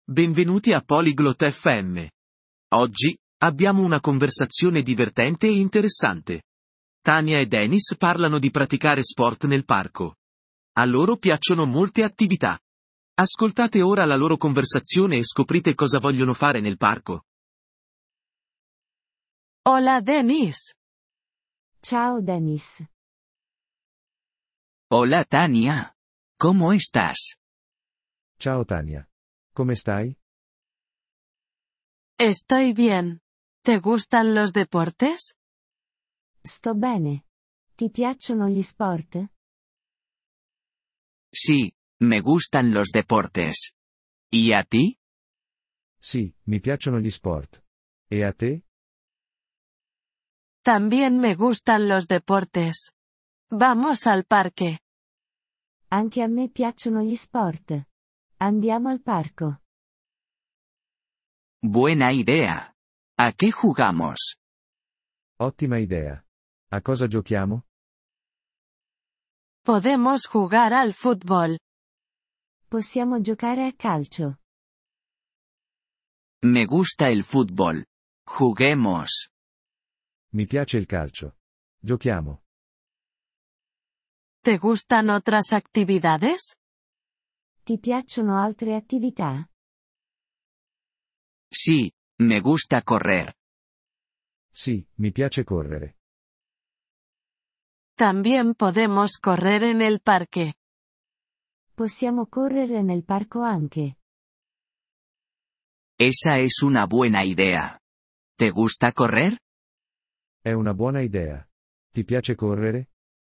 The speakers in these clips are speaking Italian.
Benvenuti a Polyglot FM. Oggi, abbiamo una conversazione divertente e interessante. Tania e Dennis parlano di praticare sport nel parco. A loro piacciono molte attività. Ascoltate ora la loro conversazione e scoprite cosa vogliono fare nel parco. Hola Dennis. Ciao Dennis. Hola Tania. ¿Cómo estás? Ciao Tania. Come stai? Estoy bien. ¿Te gustan los deportes? Sto bene. Ti piacciono gli sport? Sí, me gustan los deportes. ¿Y a ti? Sì, mi piacciono gli sport. E a te? También me gustan los deportes. Vamos al parque. Anche a me piacciono gli sport. Andiamo al parco. Buena idea. ¿A qué jugamos? Ottima idea. A cosa giochiamo? Podemos jugar al fútbol. Possiamo giocare a calcio. Me gusta el fútbol. Juguemos. Mi piace il calcio. Giochiamo. ¿Te gustan otras actividades? Ti piacciono altre attività? Sí, me gusta correr. Sì, mi piace correre. También podemos correr en el parque. Possiamo correre nel parco anche. Esa es una buena idea. ¿Te gusta correr? È una buona idea. Ti piace correre?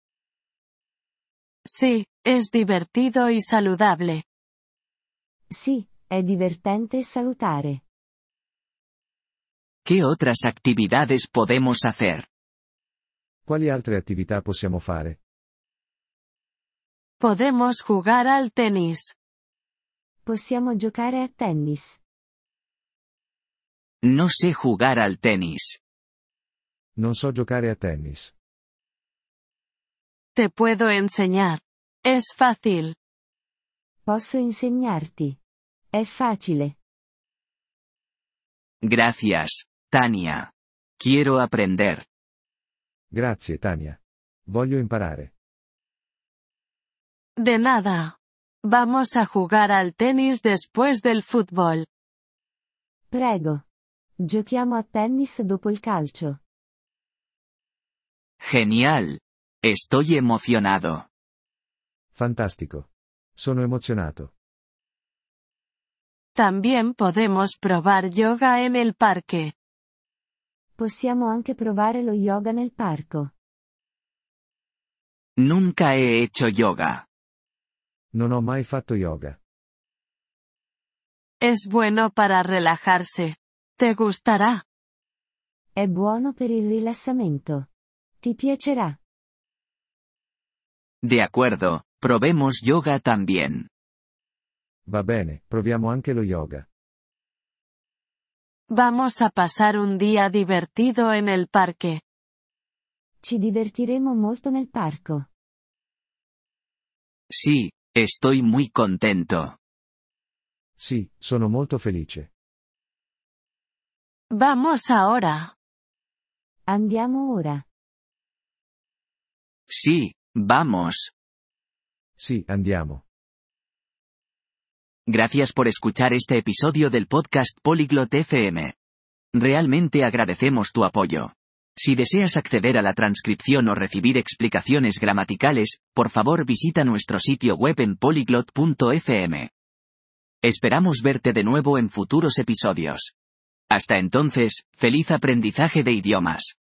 Sí, es divertido y saludable. Sì, è divertente e salutare. ¿Qué otras actividades podemos hacer? Quali altre attività possiamo fare? Podemos jugar al tenis. Possiamo giocare a tennis. No sé jugar al tenis. Non so giocare a tennis. Te puedo enseñar. Es fácil. Posso insegnarti. È facile. Gracias, Tania. Quiero aprender. Grazie Tania. Voglio imparare. De nada. Vamos a jugar al tenis después del fútbol. Prego. Giochiamo a tennis dopo il calcio. Genial. Estoy emocionado. Fantastico. Sono emozionato. También podemos probar yoga en el parque. Possiamo anche provare lo yoga nel parco. Nunca he hecho yoga. Non ho mai fatto yoga. Es bueno para relajarse. ¿Te gustará? È buono per il rilassamento. Ti piacerà. De acuerdo, probemos yoga también. Va bene, proviamo anche lo yoga. Vamos a pasar un día divertido en el parque. Ci divertiremo molto nel parco. Sí, estoy muy contento. Sì, sono molto felice. Vamos ahora. Andiamo ora. Sí, vamos. Sì, andiamo. Gracias por escuchar este episodio del podcast Polyglot FM. Realmente agradecemos tu apoyo. Si deseas acceder a la transcripción o recibir explicaciones gramaticales, por favor visita nuestro sitio web en polyglot.fm. Esperamos verte de nuevo en futuros episodios. Hasta entonces, feliz aprendizaje de idiomas.